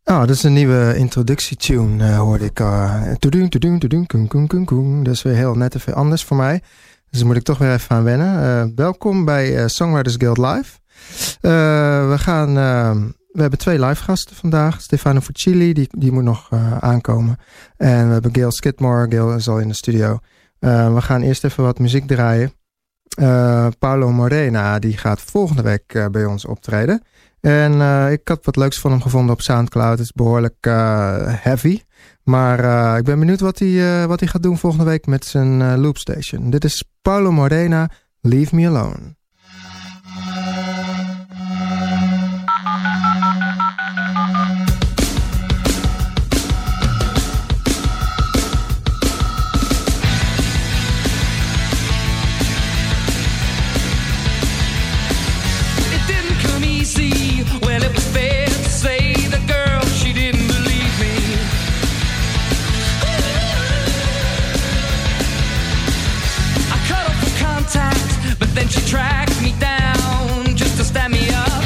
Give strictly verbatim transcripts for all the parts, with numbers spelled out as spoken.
Oh, dat is een nieuwe introductietune, uh, hoorde ik. Uh, toedoen, toedoen, toedoen, koen, koen, koen, koen. Dat is weer heel net even anders voor mij. Dus daar moet ik toch weer even aan wennen. Uh, welkom bij uh, Songwriters Guild Live. Uh, we gaan... Uh, we hebben twee live gasten vandaag. Stefano Fucili, die, die moet nog uh, aankomen. En we hebben Gail Skidmore. Gail is al in de studio. Uh, we gaan eerst even wat muziek draaien. Uh, Paulo Morena, die gaat volgende week uh, bij ons optreden. En uh, ik had wat leuks van hem gevonden op Soundcloud. Het is behoorlijk uh, heavy. Maar uh, ik ben benieuwd wat hij, uh, wat hij gaat doen volgende week met zijn uh, loopstation. Dit is Paulo Morena, Leave Me Alone. She tracked me down just to stand me up.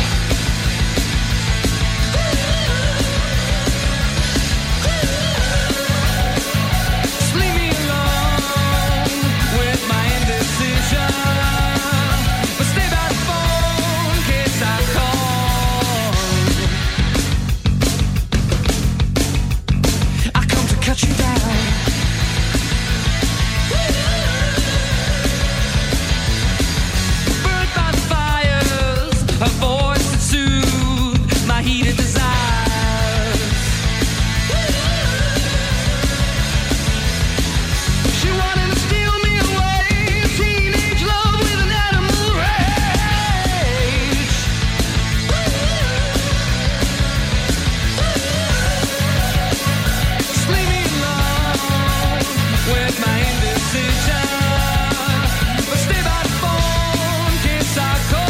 Just leave me alone with my indecision, but stay by the phone in case I call. I come to cut you down. Her voice that soothed my heated desires. She wanted to steal me away, teenage love with an animal rage. Just leave me alone with my indecision, but stay by the phone in case I call.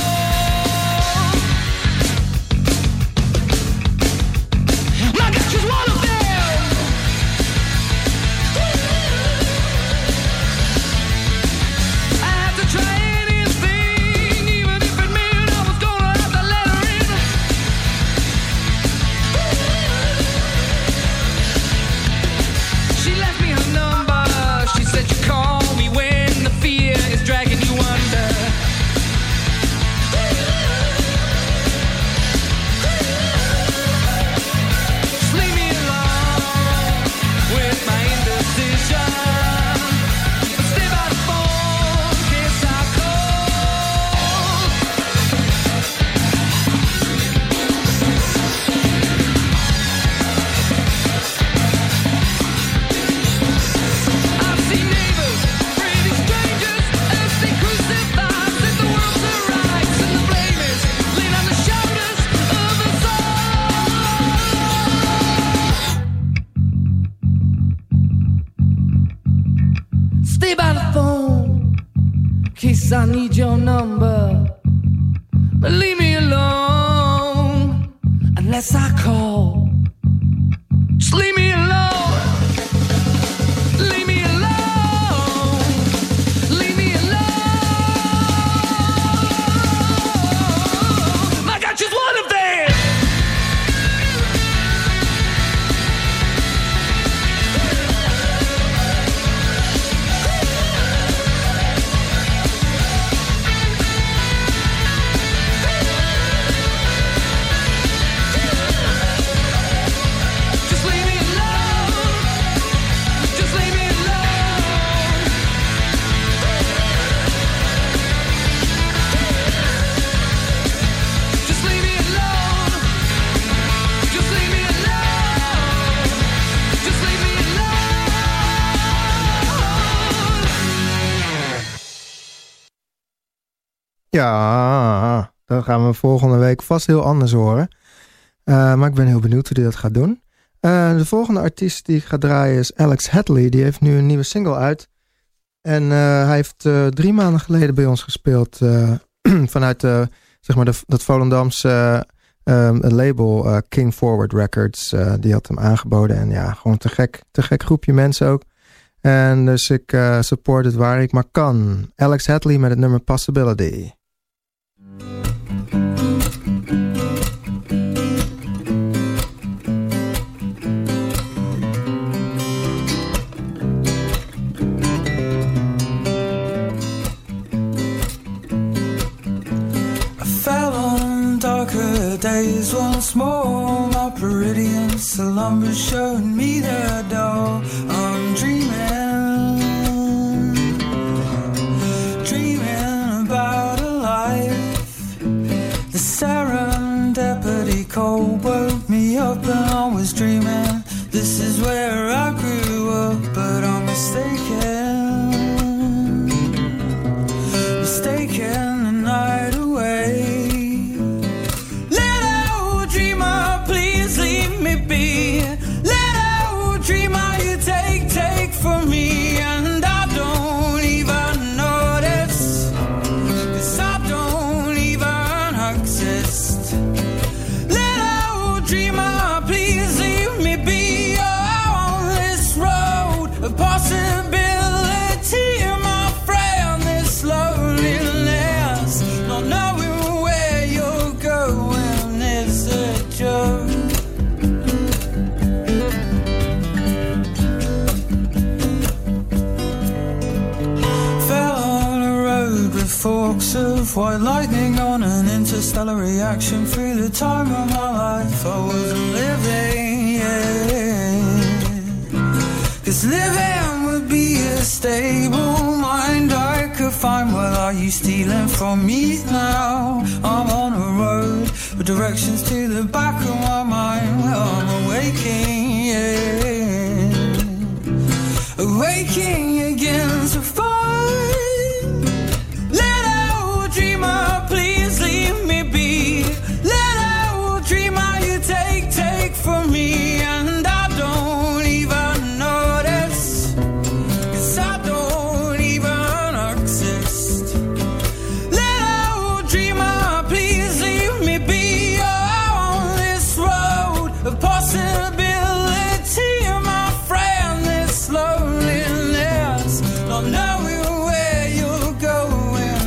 I need your number, but leave me alone unless I call. Just leave me alone. Leave me alone. Leave me alone. I got just one of them. Ja, dan gaan we volgende week vast heel anders horen. Uh, maar ik ben heel benieuwd hoe hij dat gaat doen. Uh, de volgende artiest die ik ga draaien is Alex Hadley. Die heeft nu een nieuwe single uit. En uh, hij heeft uh, drie maanden geleden bij ons gespeeld. Uh, vanuit uh, zeg maar de, dat Volendamse uh, um, label uh, King Forward Records. Uh, die had hem aangeboden. En ja, gewoon te gek, te gek groepje mensen ook. En dus ik uh, support het waar ik maar kan. Alex Hadley met het nummer Possibility. Close once more, my peridian slumber showing me the door. I'm dreaming, dreaming about a life. The serendipity cold woke me up and I was dreaming. This is where I grew up, but I'm mistaken, mistaken the night away. For me, and I don't even notice, 'cause I don't even exist. Little dreamer, please leave me be on this road of possibility, my friend, this loneliness, not knowing where you're going is a joke. Forks of white lightning on an interstellar reaction. Through the time of my life I wasn't living, yeah. 'Cause living would be a stable mind I could find. Well, are you stealing from me now? I'm on a road with directions to the back of my mind. Well, I'm awaking, yeah. Awaking again to find. Please leave me be. Little dreamer, you take, take from me, and I don't even notice, 'cause I don't even exist. Little dreamer, please leave me be on this road of possibility, my friend, this loneliness, not knowing where you're going.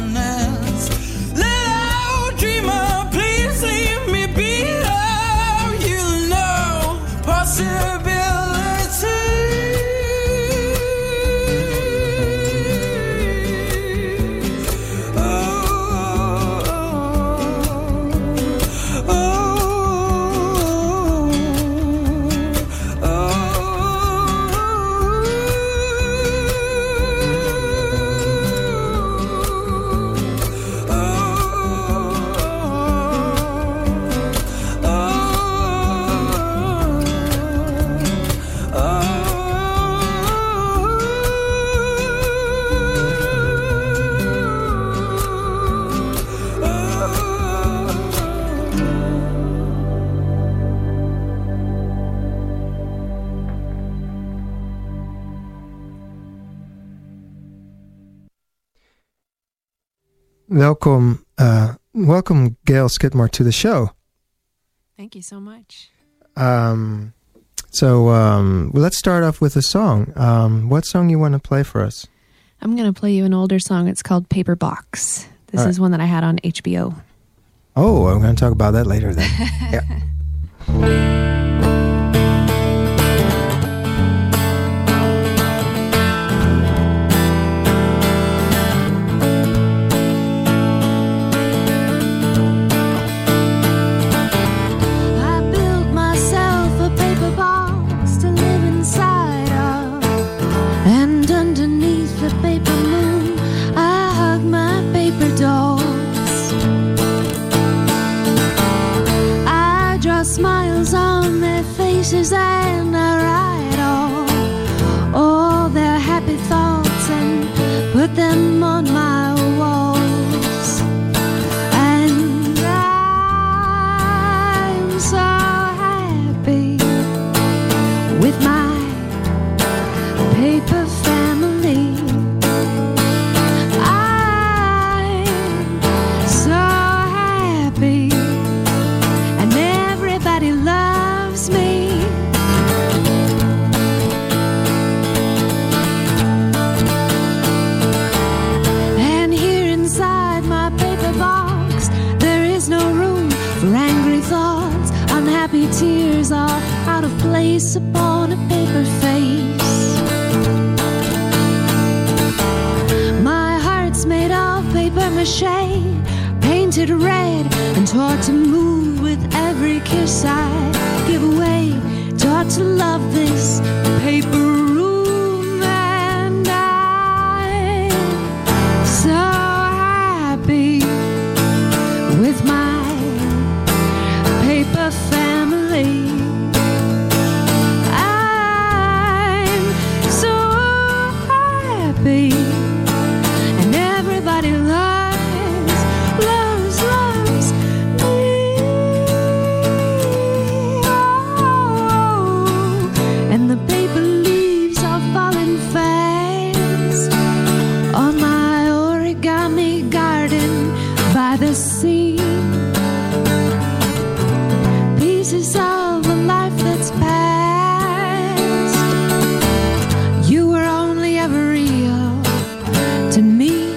Welcome, uh, welcome, Gail Skidmore, to the show. Thank you so much. Um, so um, well, let's start off with a song. Um, what song you want to play for us? I'm going to play you an older song. It's called Paper Box. This All is right. one that I had on H B O. Oh, I'm going to talk about that later then. Yeah. And I write all, all their happy thoughts and put them on my walls. And I'm so happy with my paper family. I'm so happy and everybody loves me. Tears are out of place upon a paper face. My heart's made of paper mache, painted red and taught to move with every every kiss I give away, taught to love this paper room, and I'm so happy with my paper family. I'm so happy, and everybody loves, loves, loves me. Oh, and the paper leaves are falling fast on my origami garden by the sea. Pieces of a life that's past. You were only ever real to me,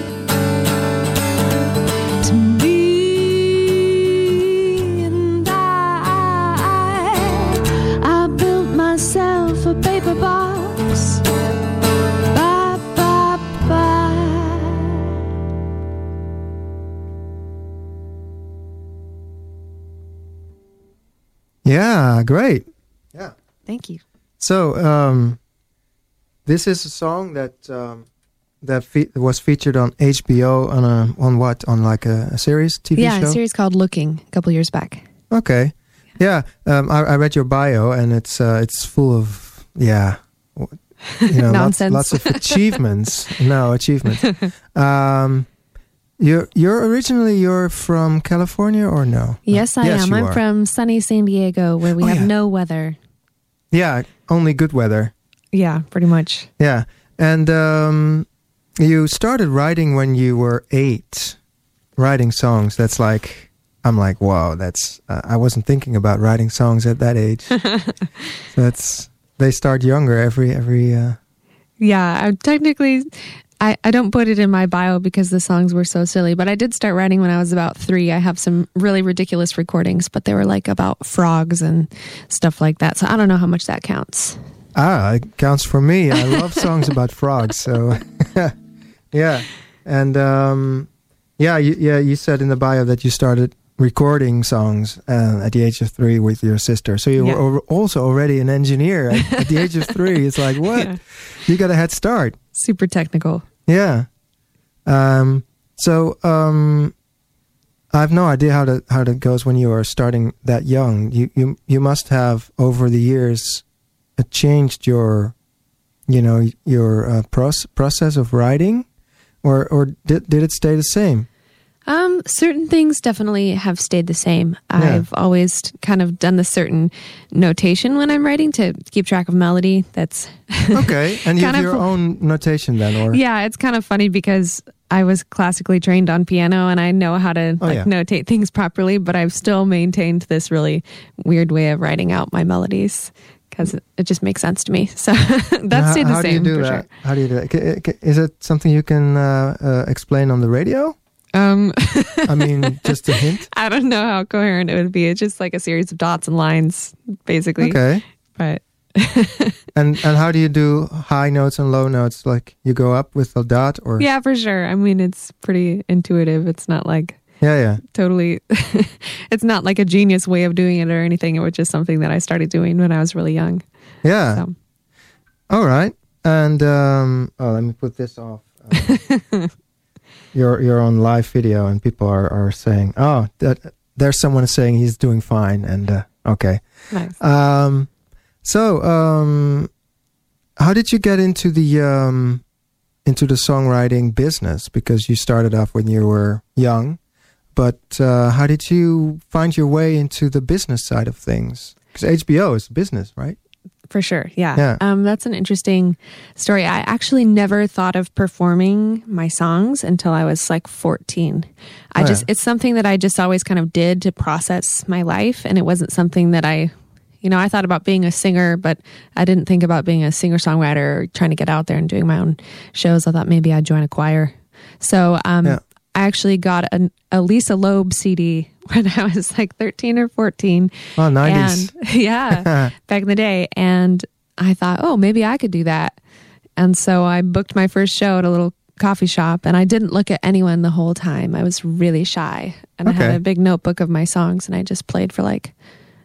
to me, and I, I built myself a paper box. Ba, ba, ba. Yeah, great. Yeah. Thank you. So, um, this is a song that um, that fe- was featured on H B O on a on what on like a, a series T V Yeah, show. a series called Looking a couple years back. Okay, yeah. Um, I, I read your bio and it's uh, it's full of yeah, w- you know, lots, Nonsense. lots of achievements. No achievements. Um, you're you're originally you're from California or no? Yes, I Yes, am. you I'm are. from sunny San Diego, where we Oh, have yeah. no weather. Yeah, only good weather. Yeah, pretty much. Yeah, and um, you started writing when you were eight, writing songs. That's like, I'm like, wow, that's, uh, I wasn't thinking about writing songs at that age. So that's, they start younger every, every, uh, Yeah, I technically, I, I don't put it in my bio because the songs were so silly, but I did start writing when I was about three. I have some really ridiculous recordings, but they were like about frogs and stuff like that. So I don't know how much that counts. ah, it counts for me. I love songs about frogs. So yeah. And, um, yeah, you, yeah, you said in the bio that you started recording songs uh, at the age of three with your sister. So you Yeah. were al- also already an engineer at, at the age of three. It's like, what? Yeah. You got a head start. Super technical. Yeah. Um, so um, I have no idea how that how that goes when you are starting that young. You you you must have over the years uh, changed your, you know, your uh, proce- process of writing, or or did did it stay the same? Um, certain things definitely have stayed the same. Yeah. I've always kind of done the certain notation when I'm writing to keep track of melody. That's Okay, and you have Kind your of- own notation then, or yeah, it's kind of funny because I was classically trained on piano and I know how to Oh, like yeah. notate things properly, but I've still maintained this really weird way of writing out my melodies because it, it just makes sense to me. So And that how, stayed the how same do you do for that? How do you do that? C- c- Is it something you can uh, uh, explain on the radio? sure. Um, I mean, just a hint. I don't know how coherent it would be. It's just like a series of dots and lines, basically. Okay. But And and how do you do high notes and low notes? Like you go up with a dot, or yeah, for sure. I mean, it's pretty intuitive. It's not like yeah, yeah. totally, it's not like a genius way of doing it or anything. It was just something that I started doing when I was really young. Yeah. So. All right. And um, oh, let me put this off. Uh, you're you're on live video, and people are, are saying, "Oh, that there's someone saying he's doing fine." And uh, okay. Nice. Um, so um, how did you get into the um, into the songwriting business? Because you started off when you were young, but uh, how did you find your way into the business side of things? Because H B O is business, right? For sure. Yeah. Yeah. Um, that's an interesting story. I actually never thought of performing my songs until I was like fourteen. I Oh, just, yeah. it's something that I just always kind of did to process my life. And it wasn't something that I, you know, I thought about being a singer, but I didn't think about being a singer songwriter or trying to get out there and doing my own shows. I thought maybe I'd join a choir. So, um, Yeah. I actually got an, a Lisa Loeb C D when I was like thirteen or fourteen. Oh, nineties. And yeah, back in the day. And I thought, oh, maybe I could do that. And so I booked my first show at a little coffee shop and I didn't look at anyone the whole time. I was really shy. And I Okay. had a big notebook of my songs and I just played for like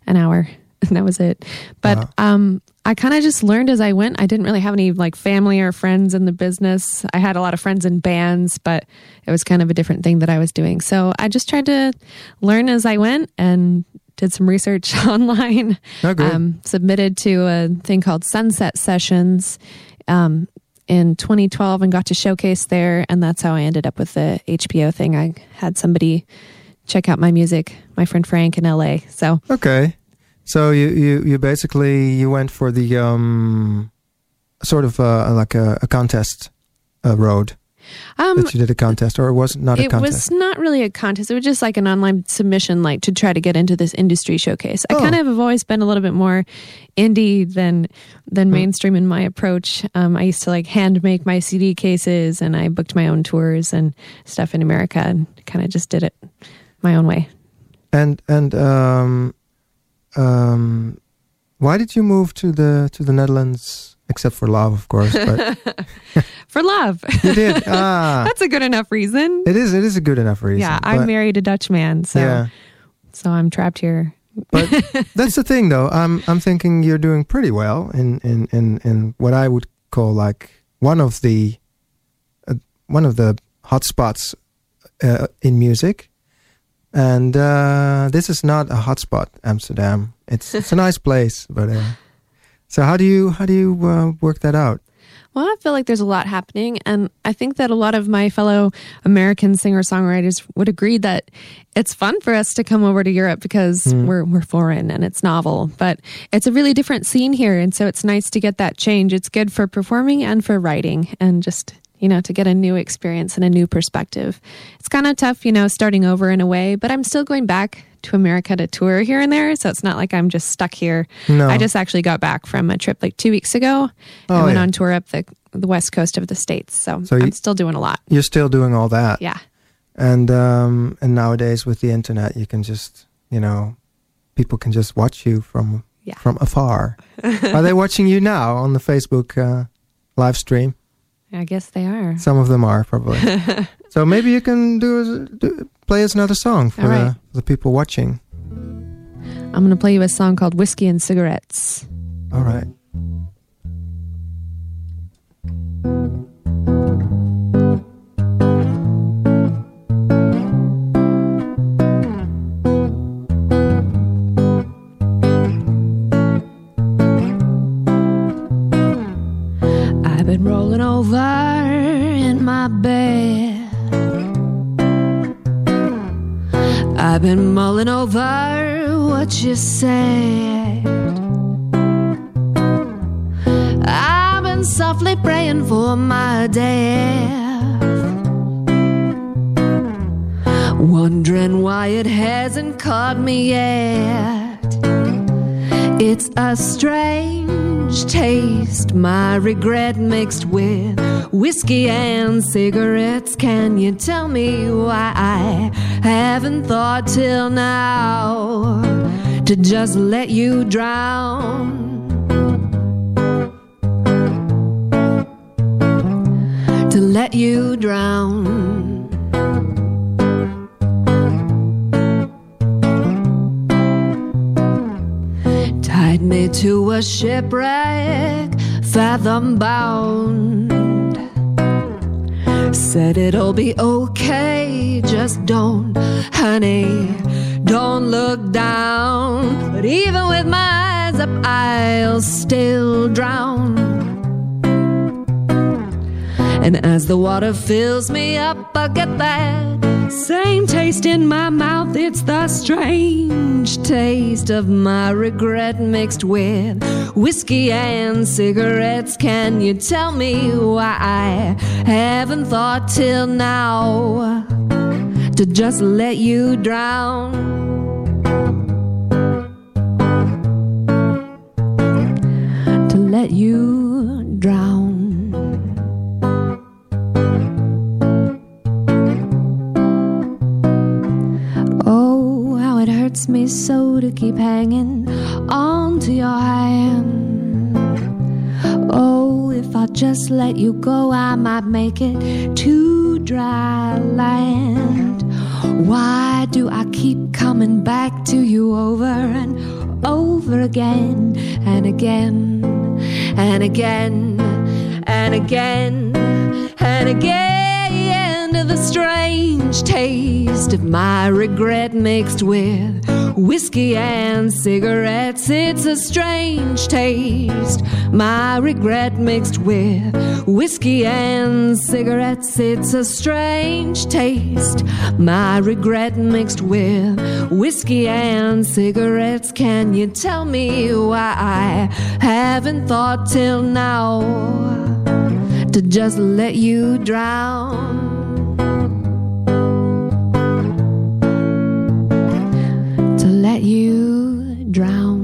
an hour, and that was it. But Wow. um, I kind of just learned as I went. I didn't really have any like family or friends in the business. I had a lot of friends in bands, but it was kind of a different thing that I was doing. So I just tried to learn as I went and did some research online. Oh, good. Um, submitted to a thing called Sunset Sessions um, in twenty twelve and got to showcase there. And that's how I ended up with the H P O thing. I had somebody check out my music, my friend Frank in L A. So Okay. So you, you, you basically, you went for the um, sort of uh, like a, a contest uh, road. um, That you did a contest, or it was not a it contest? was not really a contest. It was just like an online submission, like to try to get into this industry showcase. I Oh. kind of have always been a little bit more indie than than mainstream in my approach. Um, I used to like hand make my C D cases, and I booked my own tours and stuff in America, and kind of just did it my own way. And and um, um, why did you move to the to the Netherlands? Except for love, of course. But For love. you did. Ah, That's a good enough reason. it is. It is a good enough reason. Yeah, I but- married a Dutch man, so Yeah, so I'm trapped here. but that's the thing, though. I'm I'm thinking you're doing pretty well in in in, in what I would call like one of the uh, one of the hot spots uh, in music. And uh, this is not a hot spot, Amsterdam. It's it's a nice place, but uh, so how do you how do you uh, work that out? Well, I feel like there's a lot happening, and I think that a lot of my fellow American singer-songwriters would agree that it's fun for us to come over to Europe because we're we're foreign and it's novel, but it's a really different scene here, and so it's nice to get that change. It's good for performing and for writing, and just, you know, to get a new experience and a new perspective. It's kind of tough, you know, starting over in a way, but I'm still going back to America to tour here and there, so it's not like I'm just stuck here. No. I just actually got back from a trip like two weeks ago. Oh, I went yeah. on tour up the the west coast of the States, so, So I'm you- still doing a lot. You're still doing all that. Yeah. And um, and nowadays with the internet, you can just, you know, people can just watch you from Yeah. from afar. Are they watching you now on the Facebook uh, live stream? I guess they are. Some of them are probably. So maybe you can do, do play us another song for All right. the, the people watching. I'm going to play you a song called Whiskey and Cigarettes. All right. I've been rolling over in my bed. I've been mulling over what you said. I've been softly praying for my death, wondering why it hasn't caught me yet. It's a strange taste, my regret mixed with whiskey and cigarettes. Can you tell me why I haven't thought till now to just let you drown? To let you drown. Tied me to a shipwreck, fathom bound. Said it'll be okay, just don't, honey, don't look down. But even with my eyes up, I'll still drown. And as the water fills me up, I get that same taste in my mouth. It's the strange taste of my regret mixed with whiskey and cigarettes. Can you tell me why I haven't thought till now to just let you drown? To let you drown. Oh, how it hurts me so to keep hanging on to your hand. Oh, if I just let you go, I might make it to dry land. Why do I keep coming back to you over and over again and again and again and again and again to the strange taste of my regret mixed with whiskey and cigarettes. It's a strange taste, my regret mixed with whiskey and cigarettes. It's a strange taste, my regret mixed with whiskey and cigarettes. Can you tell me why I haven't thought till now to just let you drown? To let you drown.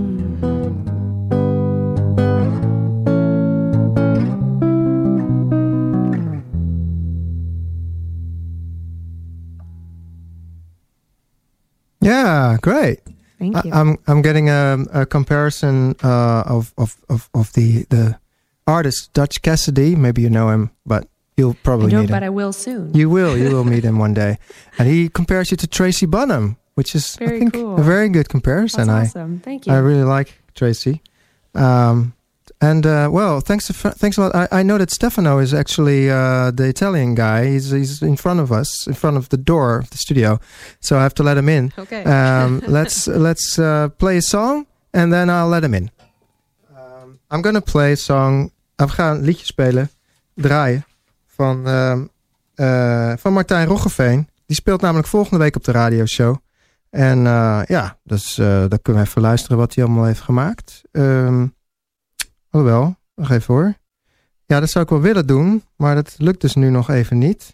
Yeah, great. Thank you. I, I'm I'm getting a, a comparison uh, of, of, of, of the the artist Dutch Cassidy. Maybe you know him, but you'll probably I don't, meet him. but I will soon. You will. You will meet him one day. And he compares you to Tracy Bonham, which is Very I think cool. a very good comparison. That's awesome. Thank you. I I really like Tracy. Um, and uh, well, thanks to, thanks a lot. I, I know that Stefano is actually uh, the Italian guy. He's he's in front of us, in front of the door of the studio. So I have to let him in. Okay. Um, let's let's uh, play a song and then I'll let him in. Um, I'm gonna play a song. We gaan een liedje spelen, draaien van uh, uh, van Martijn Roggeveen. Die speelt namelijk volgende week op de radioshow. En uh, ja, dus uh, dan kunnen we even luisteren wat hij allemaal heeft gemaakt. Um, alhoewel, nog even hoor. Ja, dat zou ik wel willen doen, maar dat lukt dus nu nog even niet.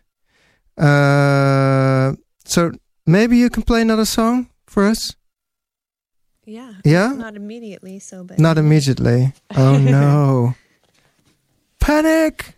Uh, so maybe you can play another song for us? Yeah. Yeah? Not immediately, so but Not immediately. Oh no. Panic!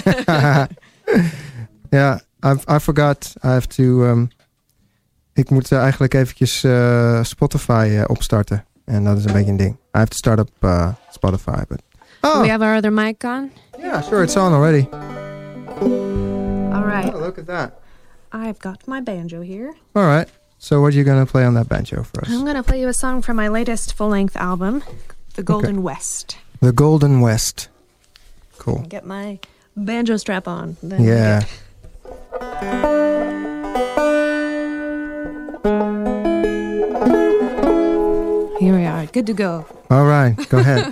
Ja, I, I forgot. I have to... Um, ik moet uh, eigenlijk eventjes uh, Spotify uh, opstarten. En dat is een beetje een ding. I have to start up uh, Spotify. But... Do Oh, we have our other mic on? yeah, sure, it's on already. All right. Oh, look at that. I've got my banjo here. All right. So what are you going to play on that banjo for us? I'm going to play you a song from my latest full-length album, The Golden West. The Golden West. Cool. Get my banjo strap on. Then Yeah. Here we are. Good to go. All right, go ahead.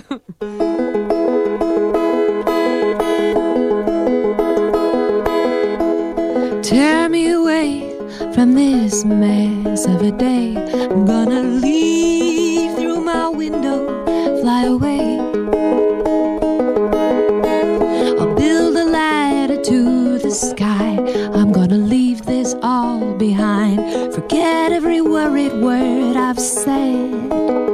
Tear me away from this mess of a day. I'm gonna leave through my window, fly away. I'll build a ladder to the sky. I'm gonna leave this all behind. Forget every worried word I've said.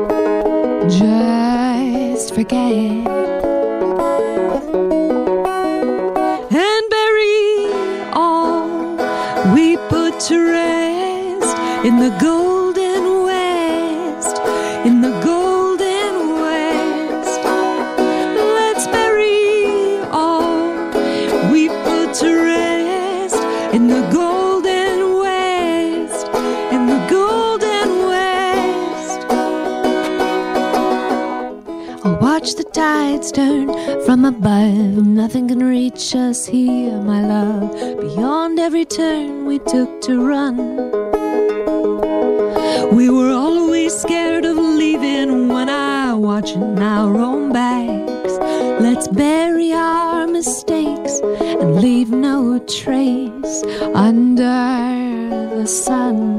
Just forget. And bury all we put to rest in the golden west, in the golden west. Let's bury all we put to rest in the golden west, in the golden west. I'll watch the tides turn from above. Nothing can reach us here, my love. Beyond every turn we took to run, we were always scared of leaving. When I watch our own backs, let's bury our mistakes and leave no trace under the sun.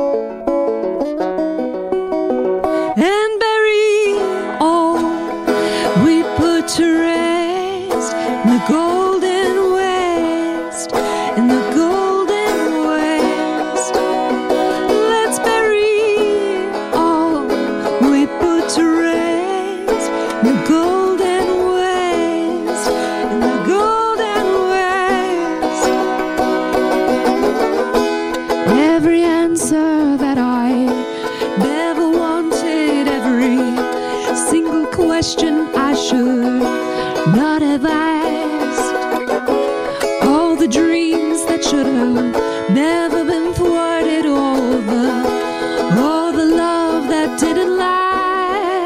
And bury all we put to rest in the golden west, in the golden west. Let's bury all we put to rest in the golden west, in the golden west. Every answer that I never wanted, every single question I should not have asked, all the dreams that should have never been thwarted, all the, all the love that didn't last.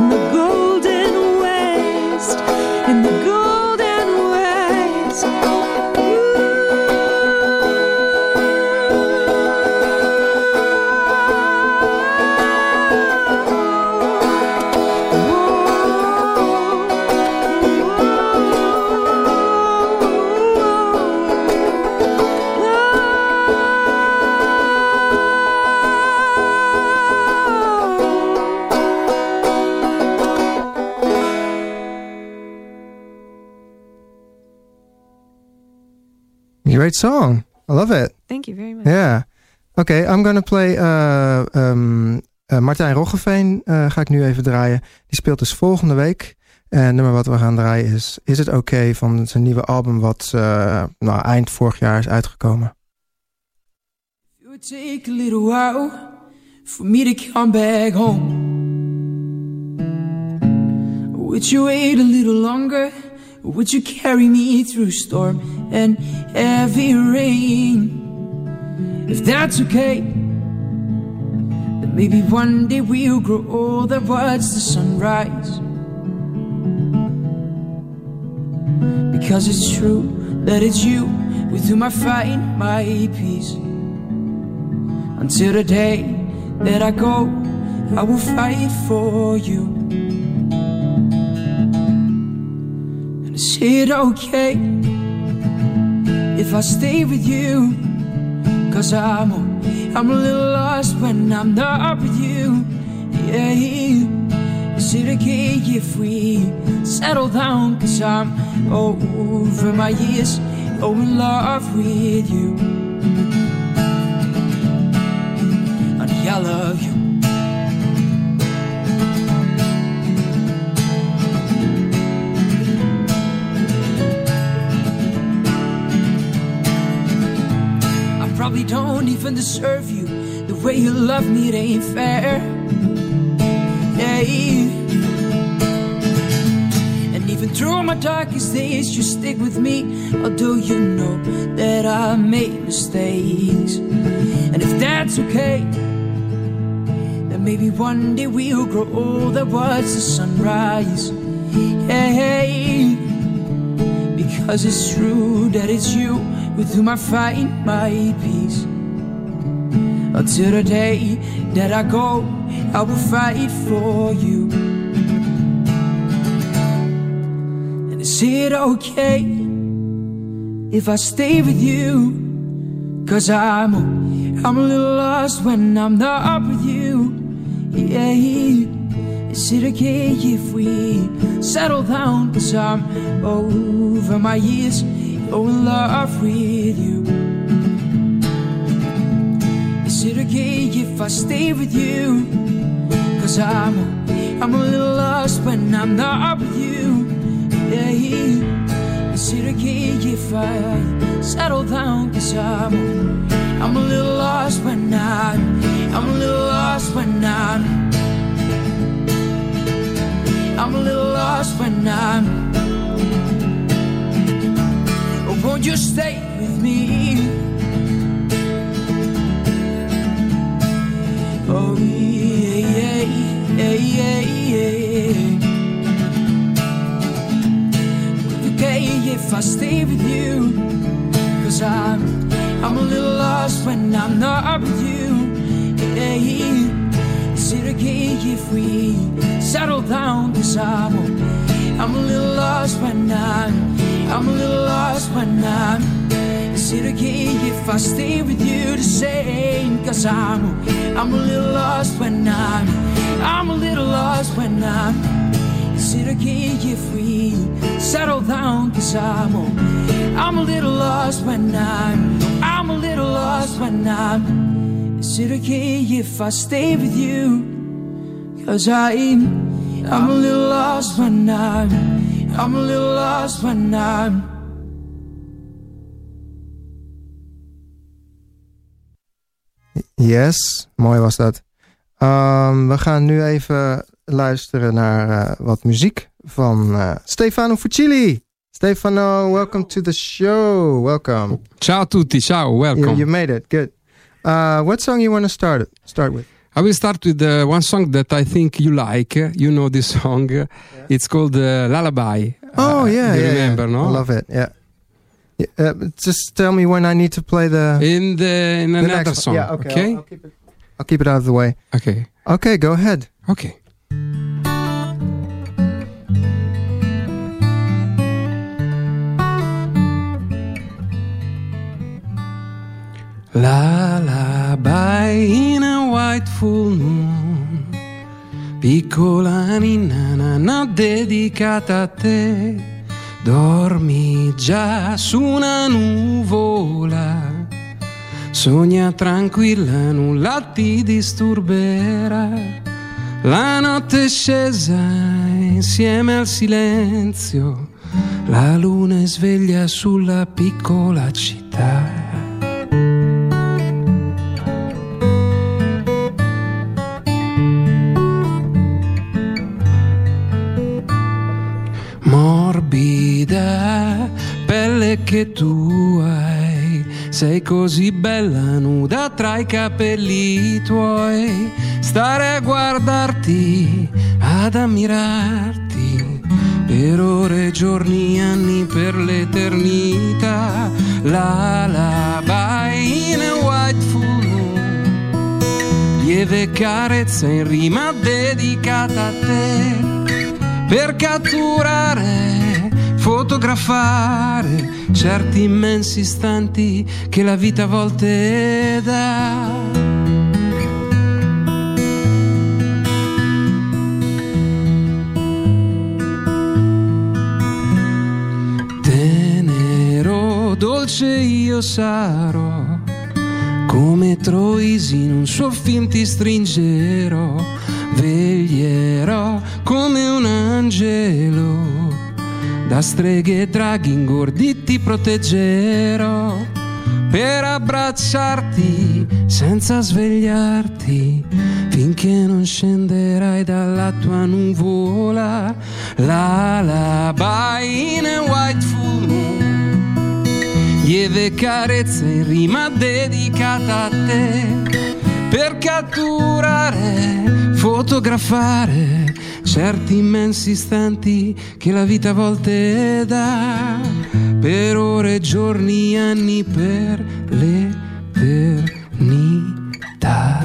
in the golden west, in the golden west. Great song. I love it. Thank you very much. Yeah. Okay, I'm gonna play uh, um, uh, Martijn Roggeveen uh, ga ik nu even draaien. Die speelt dus volgende week. En het nummer wat we gaan draaien is Is It Okay van zijn nieuwe album wat uh, nou, eind vorig jaar is uitgekomen. It would take a little while for me to come back home. Would you wait a little longer? Or would you carry me through storm and heavy rain? If that's okay, then maybe one day we'll grow old and watch the sunrise. Because it's true that it's you with whom I find my peace. Until the day that I go, I will fight for you. Is it okay if I stay with you? Cause I'm, I'm a little lost when I'm not with you. Yeah. Is it okay if we settle down? Cause I'm over my years, oh in love with you. Honey, I love you. Probably don't even deserve you. The way you love me, it ain't fair. Yeah. And even through my darkest days, you stick with me. Although you know that I made mistakes. And if that's okay, then maybe one day we'll grow old and watch the sunrise. Yeah. Because it's true that it's you with whom I find my peace. Until the day that I go, I will fight for you. And is it okay if I stay with you? Cause I'm, I'm a little lost when I'm not with you. Yeah. Is it okay if we settle down? Cause I'm over my years, oh in love with you. Is it okay if I stay with you? Cause I'm, I'm a little lost when I'm not with you. Yeah. Is it okay if I settle down? Cause I'm, I'm a little lost when I'm, I'm a little lost when I'm, I'm a little lost when I'm. Oh, won't you stay with me? Oh, yeah, yeah, yeah, yeah. Okay, if I stay with you, cause I'm, I'm a little lost when I'm not with you. Yeah. Is it okay if we settle down? Cause I'm, I'm a little lost when I'm, I'm a little lost when I'm. Is it okay if I stay with you the same? Cause I'm, I'm a little lost when I'm, I'm a little lost when I'm. Is it okay if we settle down? Cause I'm, I'm a little lost when I'm, I'm a little lost when I'm. Is it okay if I stay with you? Cause I'm, I'm a little lost when I'm, I'm a little lost when I'm. Yes, mooi was dat. Um, we gaan nu even luisteren naar uh, wat muziek van uh, Stefano Fucili. Stefano, welcome to the show. Welcome. Ciao a tutti, ciao, welcome. You, you made it, good. Uh, what song you want to start start with? I will start with uh, one song that I think you like. You know this song. Yeah. It's called uh, Lullaby. Oh, uh, yeah, you yeah. remember, yeah. no? I love it, yeah. yeah uh, just tell me when I need to play the... In, the, in the another next song, one. Yeah, okay. okay? I'll, I'll, keep it, I'll keep it out of the way. Okay. Okay, go ahead. Okay. Lullaby in a white full moon, piccola ninna nanna dedicata a te, dormi già su una nuvola, sogna tranquilla, nulla ti disturberà, la notte è scesa insieme al silenzio, la luna è sveglia sulla piccola città. Morbida pelle che tu hai, sei così bella nuda tra i capelli tuoi, stare a guardarti, ad ammirarti, per ore, giorni, anni, per l'eternità. Lullaby in a white full moon, lieve carezza in rima dedicata a te, per catturare, fotografare certi immensi istanti che la vita a volte dà. Tenero, dolce io sarò, come Troisi in un suo film ti stringerò, veglierò come un angelo, da streghe e draghi ingordi ti proteggerò, per abbracciarti senza svegliarti, finché non scenderai dalla tua nuvola. Lullaby in a white full moon, lieve carezza in rima dedicata a te, per catturare, fotografare certi immensi istanti che la vita a volte dà, per ore, giorni, anni, per l'eternità.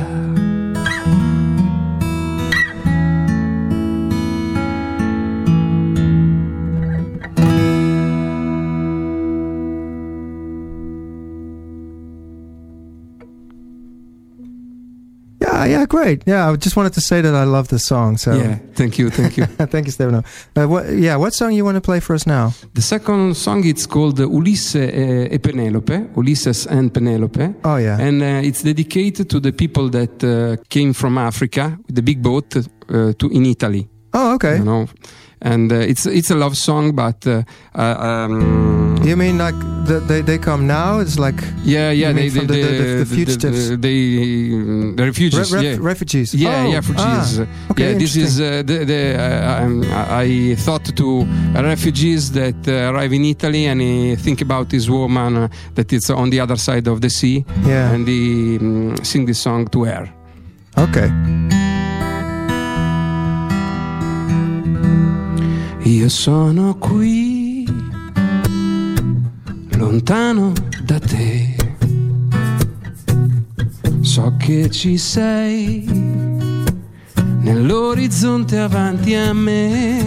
Yeah, yeah, great. Yeah, I just wanted to say that I love the song. So Yeah, thank you, thank you. thank you, Stefano. Uh, what, yeah, what song you want to play for us now? The second song it's called Ulisse e, e Penelope, Ulysses and Penelope. Oh, yeah. And uh, it's dedicated to the people that uh, came from Africa with the big boat uh, to in Italy. Oh, okay. You know, and uh, it's it's a love song, but uh, uh, um, You mean like the, they they come now? It's like yeah, yeah, you they mean from they, the, the, the, the fugitives, the, they the refugees, Re- ref- yeah. refugees. Yeah, oh, yeah, refugees. Ah, okay, yeah, this is uh, the, the uh, um, I thought to refugees that uh, arrive in Italy and he think about this woman uh, that is on the other side of the sea, Yeah. and he um, sing this song to her. Okay. Io sono qui, lontano da te, so che ci sei, nell'orizzonte avanti a me,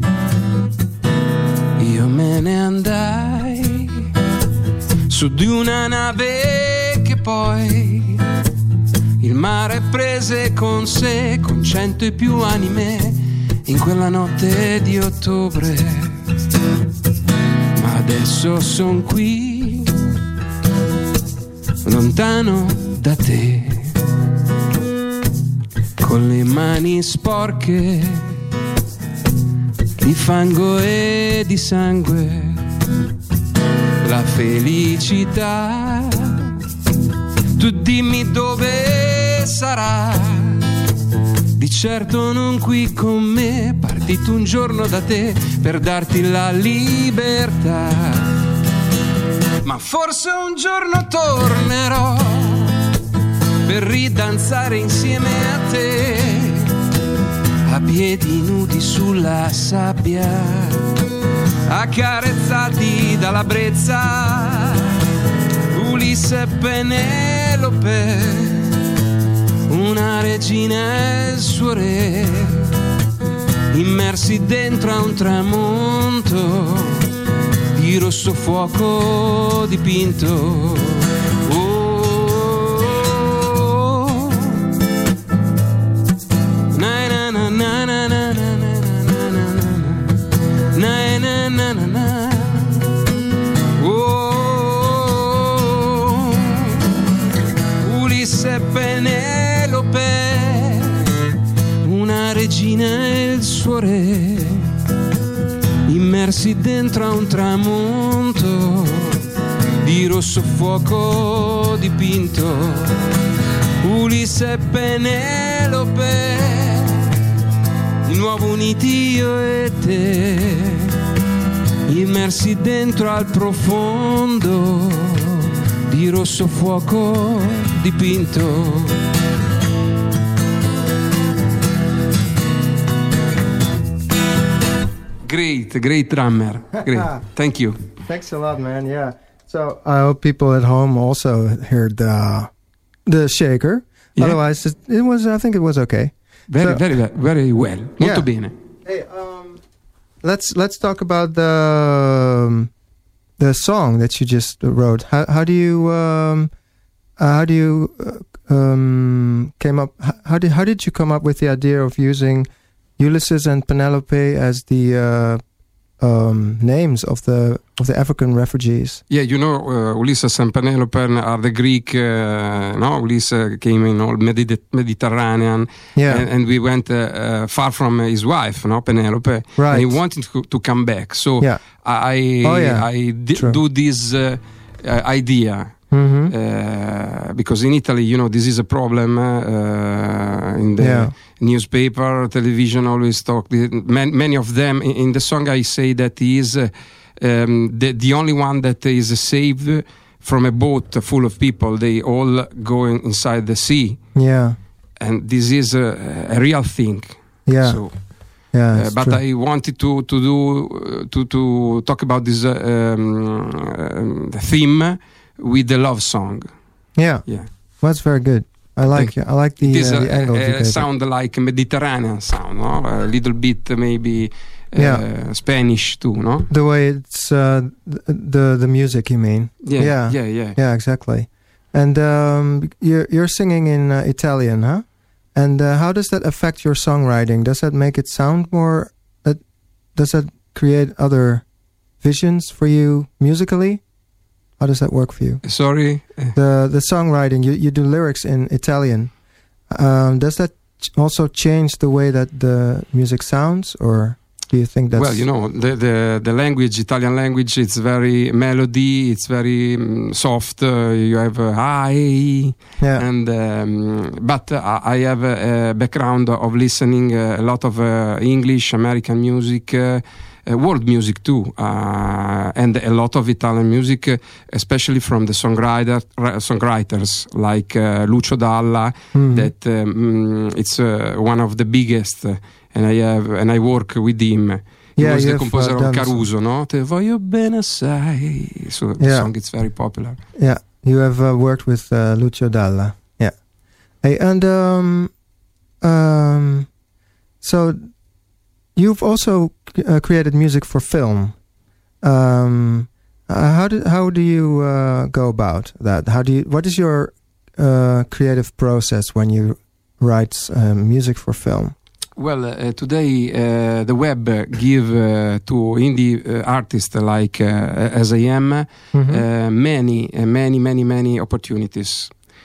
io me ne andai, su di una nave che poi il mare prese con sé, con cento e più anime, in quella notte di ottobre, ma adesso son qui, lontano da te, con le mani sporche di fango e di sangue, la felicità, tu dimmi dove sarà. Di certo non qui con me, partito un giorno da te per darti la libertà. Ma forse un giorno tornerò per ridanzare insieme a te, a piedi nudi sulla sabbia, accarezzati dalla brezza, Ulisse e Penelope, una regina e il suo re, immersi dentro a un tramonto di rosso fuoco dipinto. Oh, na na na na na na na na na na na na. Oh, Ulisse e Penelope, una regina e il suo re, immersi dentro a un tramonto di rosso fuoco dipinto. Ulisse e Penelope, di nuovo uniti io e te, immersi dentro al profondo di rosso fuoco dipinto. Great, great drummer. Great. Thank you. Thanks a lot, man. Yeah. So I hope people at home also heard the the shaker. Yeah. Otherwise, it, it was. I think it was okay. Very, So- very, very well. Molto Yeah. bene. Hey, um, let's let's talk about the um, the song that you just wrote. How how do you um, uh, how do you uh, um, came up? h- How did how did you come up with the idea of using Ulysses and Penelope as the uh, um, names of the of the African refugees? Yeah, you know, uh, Ulysses and Penelope are the Greek, uh, no? Ulysses came in all Medi- Mediterranean, Yeah. and, and we went uh, uh, far from his wife, no, Penelope. Right. And he wanted to, to come back. So Yeah. I, Oh, yeah. I di- True. do this uh, uh, idea. Mm-hmm. Uh, because in Italy, you know, this is a problem uh, in the Yeah. newspaper, television always talk. the- man- Many of them in, in the song I say that he is uh, um, the the only one that is saved from a boat full of people. They all go in, inside the sea, Yeah. and this is a, a real thing. Yeah. So, Yeah. uh, it's but true. I wanted to to do uh, to to talk about this uh, um, um, theme with the love song. Yeah. Yeah. Well, that's very good. I like Thank I like the, It is uh, a, the angle you a, gave a it. sound like a Mediterranean sound, no? A little bit maybe uh, Yeah. Spanish too, no? The way it's uh, th- the the music, you mean? Yeah, Yeah. yeah, yeah. Yeah, exactly. And um, you're you're singing in uh, Italian, huh? And uh, how does that affect your songwriting? Does that make it sound more? Uh, does that create other visions for you musically? How does that work for you? Sorry. Uh, The the songwriting, you you do lyrics in Italian. Um, does that ch- also change the way that the music sounds, or do you think that's well, you know, the, the the language, Italian language, it's very melody. It's very um, soft. Uh, you have uh, I, yeah and um, but uh, I have a, a background of listening uh, a lot of uh, English, American music. Uh, Uh, world music too, uh, and a lot of Italian music, uh, especially from the songwriter, ra- songwriters like uh, Lucio Dalla. Mhm. That um, it's uh, one of the biggest, uh, and I have and I work with him. He Yeah, was you the have, composer uh, of done Caruso, no? Te voglio bene assai. So the Yeah. song is very popular. Yeah, you have uh, worked with uh, Lucio Dalla. Yeah. Hey, and um, um, so you've also uh, created music for film. Um, uh, how do how do you uh, go about that? How do you? What is your uh, creative process when you write uh, music for film? Well, uh, today uh, the web uh, give uh, to indie uh, artists like uh, as I am Mhm. uh, many, uh, many, many, many opportunities.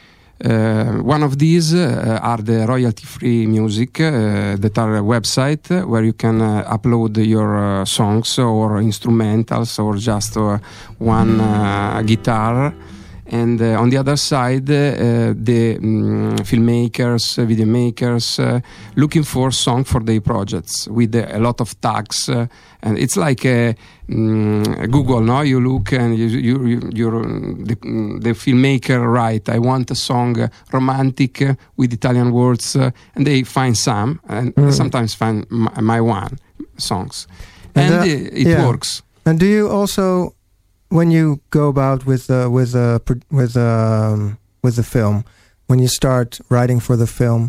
Uh, one of these uh, are the royalty-free music uh, that are a website where you can uh, upload your uh, songs or instrumentals or just uh, one uh, guitar, And uh, on the other side, uh, the um, filmmakers, uh, video makers, uh, looking for song for their projects with uh, a lot of tags, uh, and it's like a, um, Google. No, you look and you, you, you you're the, the filmmaker write, I want a song uh, romantic uh, with Italian words, uh, and they find some, and Mm. sometimes find my, my one songs, And, and, uh, uh, it yeah. works. And do you also, when you go about with uh, with uh, pro- with um, with the film, when you start writing for the film,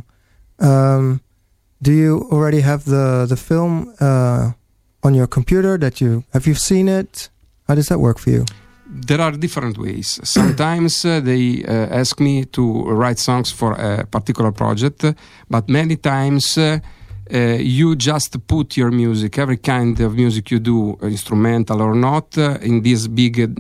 um, do you already have the the film uh, on your computer? That you have you seen it? How does that work for you? There are different ways. Sometimes uh, they uh, ask me to write songs for a particular project, but many times uh, uh, you just put your music, every kind of music you do, instrumental or not, uh, in this big uh,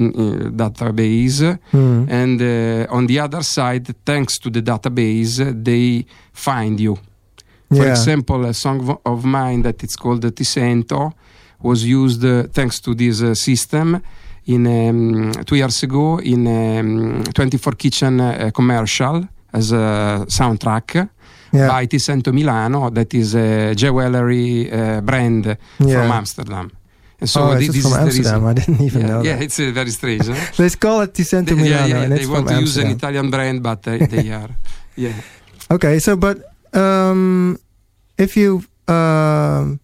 database. Mm. And uh, on the other side, thanks to the database, uh, they find you. For Yeah. example, a song of- of mine that it's called Ti Sento was used uh, thanks to this uh, system in um, two years ago in um, twenty-four Kitchen uh, commercial as a soundtrack Yeah. by Ti Sento Milano, that is a jewelry uh, brand Yeah. from Amsterdam. And so oh, thi- it's this from is the Amsterdam. reason. I didn't even Yeah, know yeah, that. it's uh, very strange. Huh? They call it Ti Sento They- Milano, yeah, yeah, and they it's want from to use an Amsterdam. Italian brand, but they, they are. Yeah. Okay, so but um, if you um,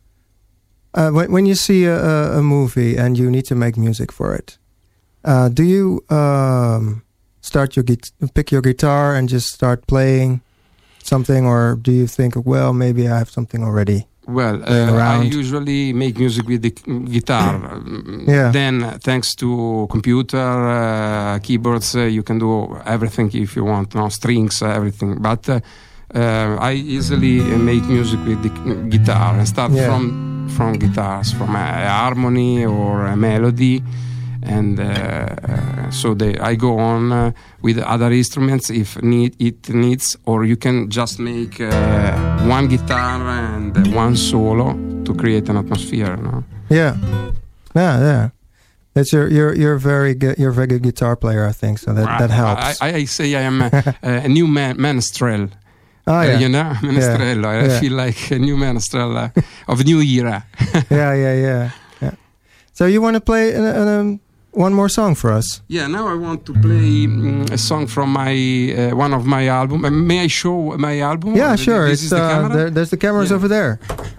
uh, when when you see a, a, a movie and you need to make music for it, uh, do you um, start your gui- pick your guitar and just start playing something, or do you think, well, maybe I have something already? Well, Playing uh, I around. usually make music with the guitar. Um, Yeah. Then, uh, thanks to computer, uh, keyboards, uh, you can do everything if you want, no strings, uh, everything. But uh, uh, I easily uh, make music with the guitar and start Yeah. from from guitars, from a, a harmony or a melody. And uh, uh, so they, I go on uh, with other instruments if need, it needs, or you can just make uh, one guitar and uh, one solo to create an atmosphere. No? Yeah, yeah, yeah. That's your you're you're very good. You're a very good guitar player, I think. So that that helps. I, I say I am a, a new man, menestrel. oh Uh, yeah, you know, menestrello. I Yeah. feel like a new menestrel uh, of new era. yeah, yeah, yeah, yeah. So you want to play an, an, um, one more song for us? Yeah, now I want to play um, a song from my uh, one of my album. Uh, may I show my album? Yeah, Th- sure. This It's is the uh, camera. there, there's the cameras Yeah. over there.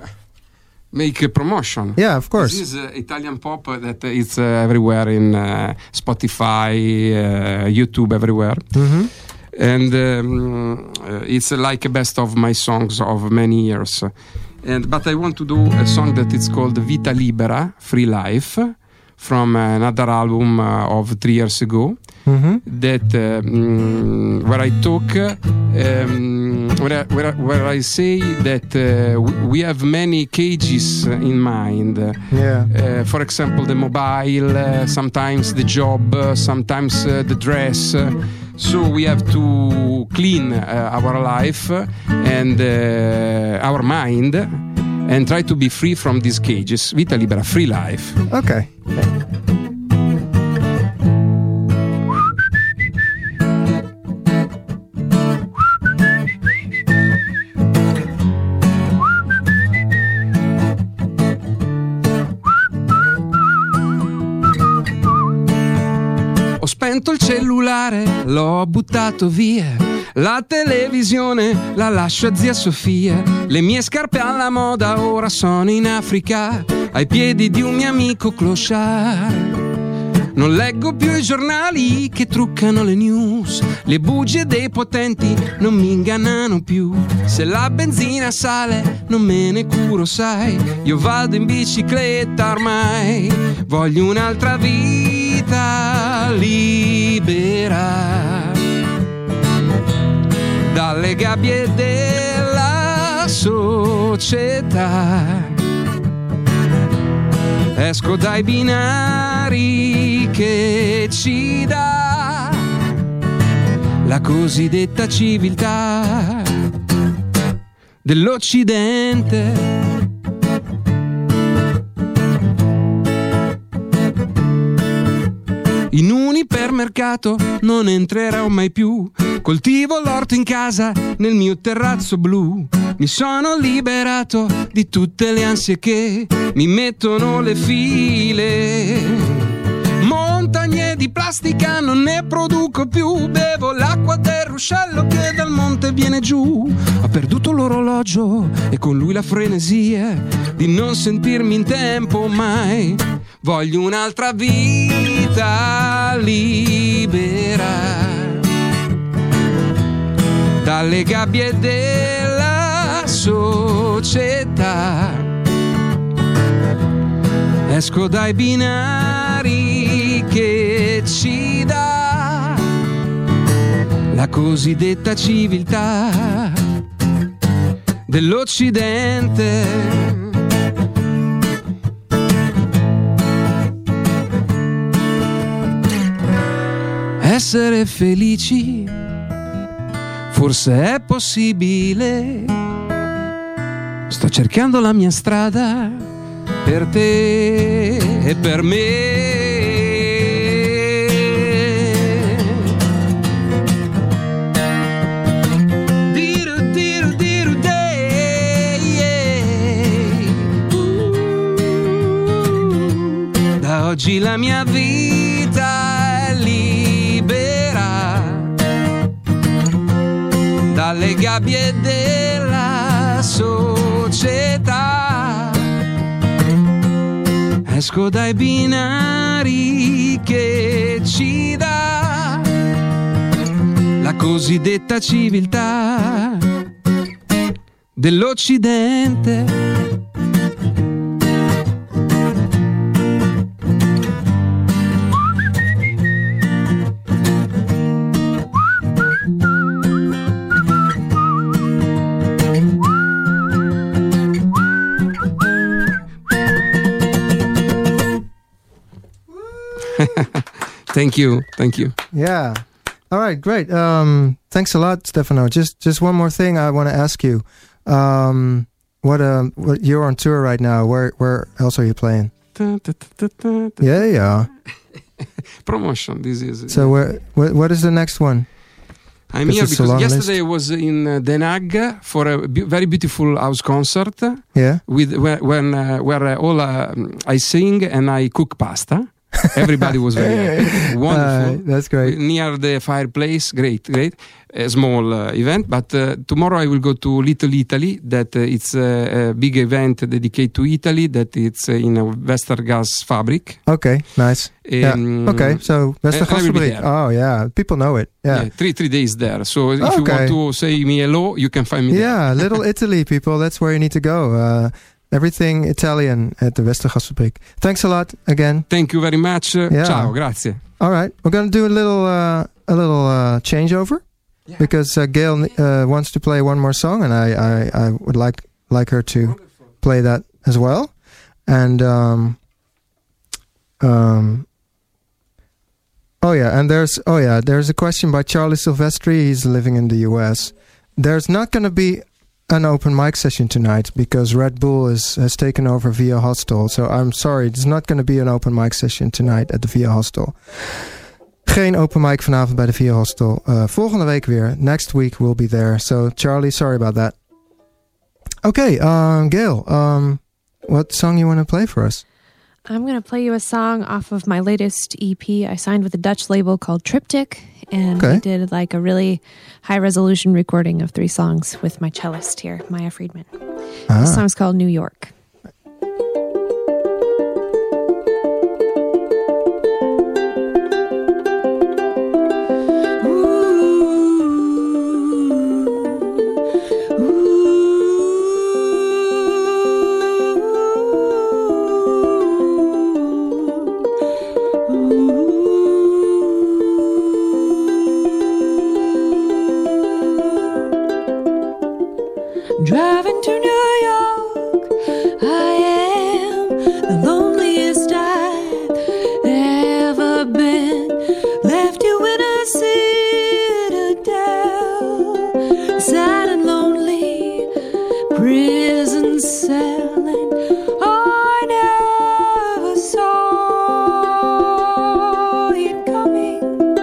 Make a promotion. Yeah, of course. This is uh, Italian pop that is uh, everywhere in uh, Spotify, uh, YouTube, everywhere. Mm-hmm. And um, uh, it's uh, like a best of my songs of many years. And but I want to do a song that is called Vita Libera, Free Life, from another album uh, of three years ago. Mm-hmm. That um, where I talk, um, where, I, where, I, where I say that uh, w- we have many cages in mind. Yeah. Uh, for example, the mobile, uh, sometimes the job, uh, sometimes uh, the dress. Uh, so we have to clean uh, our life and uh, our mind and try to be free from these cages. Vita Libera, free life. Okay. Ho spento il cellulare, l'ho buttato via. La televisione la lascio a zia Sofia. Le mie scarpe alla moda ora sono in Africa, ai piedi di un mio amico clochard. Non leggo più i giornali che truccano le news. Le bugie dei potenti non mi ingannano più. Se la benzina sale non me ne curo, sai. Io vado in bicicletta ormai. Voglio un'altra vita libera dalle gabbie della società. Esco dai binari che ci dà la cosiddetta civiltà dell'Occidente. In un ipermercato supermercato non entrerò mai più. Coltivo l'orto in casa nel mio terrazzo blu. Mi sono liberato di tutte le ansie che mi mettono le file. Montagne di plastica non ne produco più. Bevo l'acqua del ruscello che dal monte viene giù. Ho perduto l'orologio e con lui la frenesia di non sentirmi in tempo mai. Voglio un'altra vita libera dalle gabbie della società. Esco dai binari che ci dà la cosiddetta civiltà dell'Occidente. Essere felici forse è possibile. Sto cercando la mia strada per te e per me. Diru, diru, diru, day, yeah. Da oggi la mia vita è libera dalle gabbie della società. Esco dai binari che ci dà la cosiddetta civiltà dell'Occidente. Thank you, thank you. Yeah. All right, great. Um, thanks a lot, Stefano. Just just one more thing I want to ask you. Um, what uh, what you're on tour right now? Where where else are you playing? Yeah, yeah. Promotion. This is. So where what what is the next one? I'm here because yesterday I was in uh, Den Haag for a be- very beautiful house concert. Yeah. With where when uh, where uh, all uh, I sing and I cook pasta. Everybody was very happy. Wonderful. Uh, that's great. Near the fireplace. Great, great. A small uh, event. But uh, tomorrow I will go to Little Italy. That uh, it's uh, a big event dedicated to Italy. That it's uh, in a Westergasfabriek. Okay, nice. Um, yeah. Okay, so Westergasfabriek. Oh yeah, people know it. Yeah. yeah, three three days there. So if okay. you want to say me hello, you can find me there. Yeah, Little Italy, people. That's where you need to go. Uh, Everything Italian at the Westergasfabriek. Thanks a lot again. Thank you very much. Yeah. Ciao, grazie. All right, we're going to do a little uh, a little uh, changeover yeah. because uh, Gail uh, wants to play one more song, and I, I, I would like like her to Wonderful. play that as well. And um, um, oh yeah, and there's oh yeah, there's a question by Charlie Silvestri. He's living in the U S. There's not going to be an open mic session tonight because Red Bull is, has taken over Via Hostel. So I'm sorry, there's not going to be an open mic session tonight at the Via Hostel. Geen open mic vanavond bij de Via Hostel. Uh, volgende week weer. Next week we'll be there. So Charlie, sorry about that. Okay, um, Gail, um, what song you want to play for us? I'm going to play you a song off of my latest E P. I signed with a Dutch label called Triptych, and okay. I did like a really high resolution recording of three songs with my cellist here, Maya Friedman. Ah. The song's called New York. Driving to New York, I am the loneliest I've ever been. Left you in a citadel, sad and lonely, prison cell, and I never saw it coming.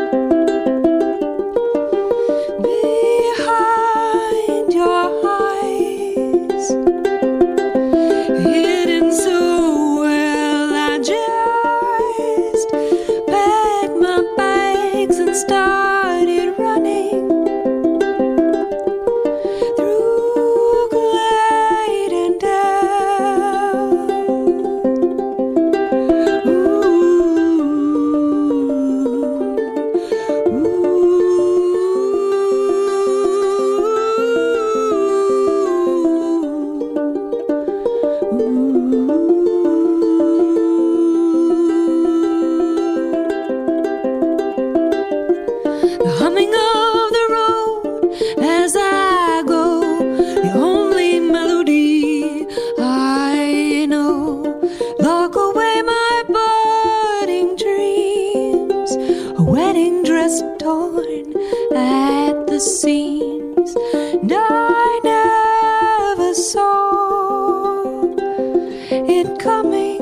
it coming.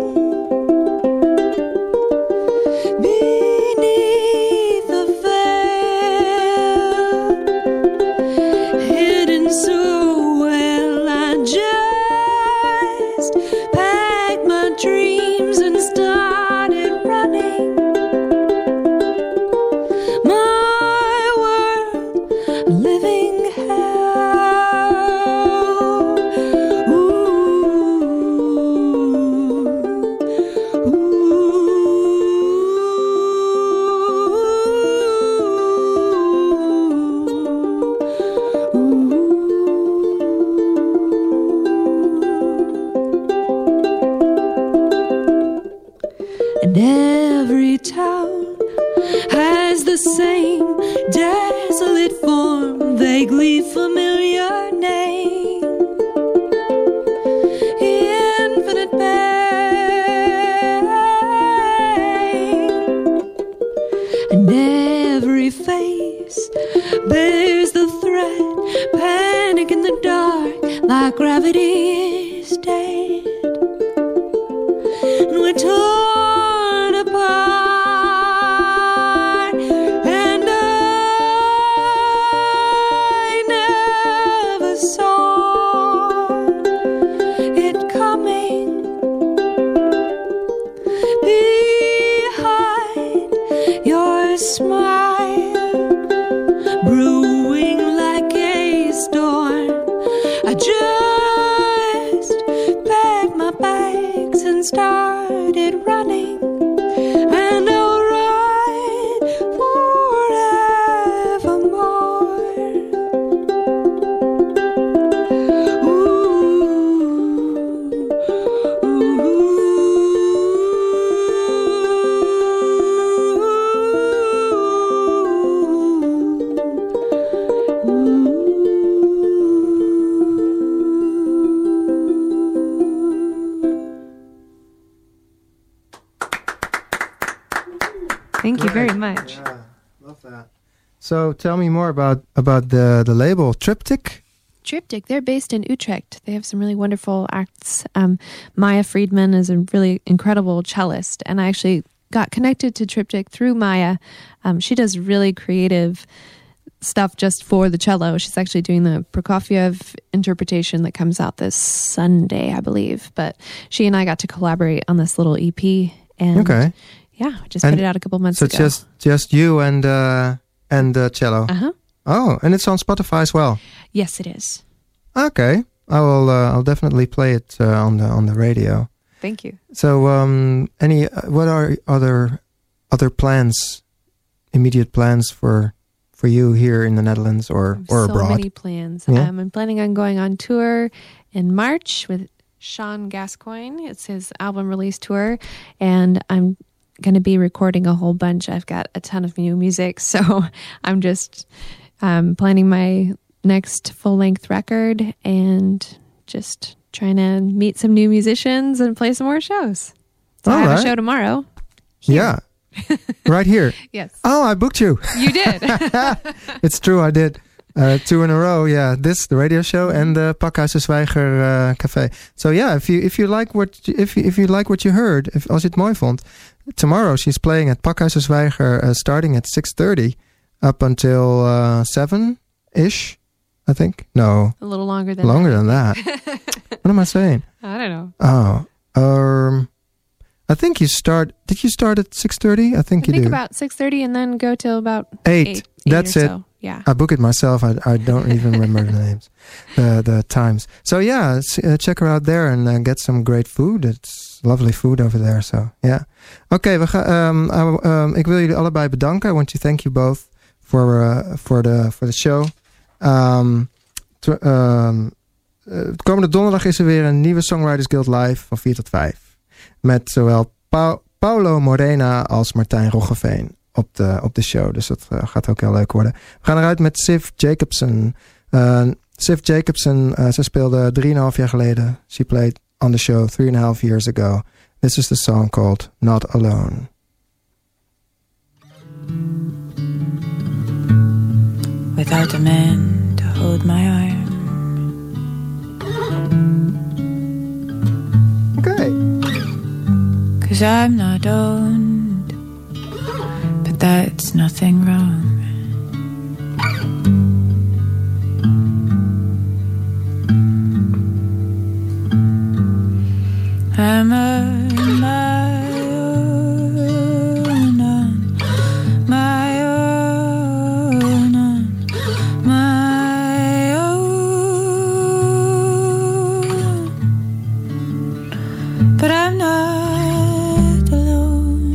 Beneath the veil, hidden so well, I just packed my dreams and started running. My world, a living hell. Ooh, and every town has the same desolate form, vaguely familiar name. Infinite pain, and every face bears the threat, panic in the dark, like gravity is dead. And we're torn apart, and I never saw it coming. Behind your smile, brewing like a storm, I just packed my bags and started running, and I'll ride forevermore. Thank you very much. Yeah, love that. So tell me more about about the the label Triptych. Triptych, they're based in Utrecht. They have some really wonderful acts. Um, Maya Friedman is a really incredible cellist, and I actually got connected to Triptych through Maya. Um, she does really creative stuff just for the cello. She's actually doing the Prokofiev interpretation that comes out this Sunday, I believe. But she and I got to collaborate on this little E P, and Okay. yeah, I just And put it out a couple months So ago. it's just just you and uh, and uh, cello. Uh-huh. Oh, and it's on Spotify as well. Yes, it is. Okay, I will. Uh, I'll definitely play it uh, on the on the radio. Thank you. So, um, any uh, what are other other plans, immediate plans for for you here in the Netherlands or or so abroad? many plans. Yeah. Um, I'm planning on going on tour in March with Sean Gascoigne. It's his album release tour, and I'm going to be recording a whole bunch. I've got a ton of new music, so I'm just um, planning my next full-length record and just trying to meet some new musicians and play some more shows. So I All have right. a show tomorrow. Yeah, right here. Yes, Oh, I booked you. you did. It's true, I did. Uh, two in a row, yeah. This, the radio show, and the Pakhuis de Zwijger uh, Café. So yeah, if you if you like what you, if you, if you like what you heard, if, als je het mooi vond, tomorrow she's playing at Pakhuis de Zwijger, uh, starting at six thirty up until uh, seven ish, I think. No, A little longer than longer that. than that. What am I saying? I don't know. Oh, um, I think you start. Did you start at six thirty? I think I you think do. about six thirty and then go till about eight. eight. That's eight or it. So. Yeah. I book it myself. I, I don't even remember the names, the the times. So yeah, s- uh, check her out there and uh, get some great food. It's lovely food over there. So yeah. Oké, we gaan. Um, I- um, ik wil jullie allebei bedanken. I want to thank you both for uh, for the for the show. Um, tw- um, uh, komende donderdag is er weer een nieuwe Songwriters Guild live van vier tot vijf met zowel Pau- Paulo Morena als Martijn Roggeveen op de, op de show. Dus dat uh, gaat ook heel leuk worden. We gaan eruit met Siv Jacobson. Uh, Siv Jacobson, uh, ze speelde drieënhalf jaar geleden. She played on the show three and a half years ago. This is the song called Not Alone. Without a man to hold my arm. Okay. 'cause I'm not owned, but that's nothing wrong. I'm on my own, on my own, on my own, but I'm not alone.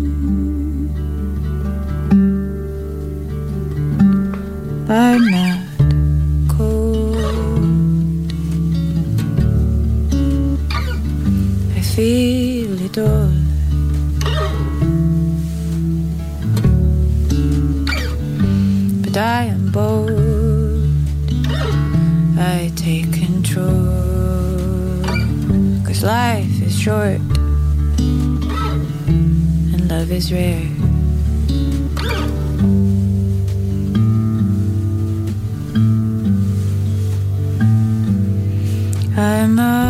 I'm not cold. I feel it all. But I am bold. I take control. 'Cause life is short and love is rare. I'm a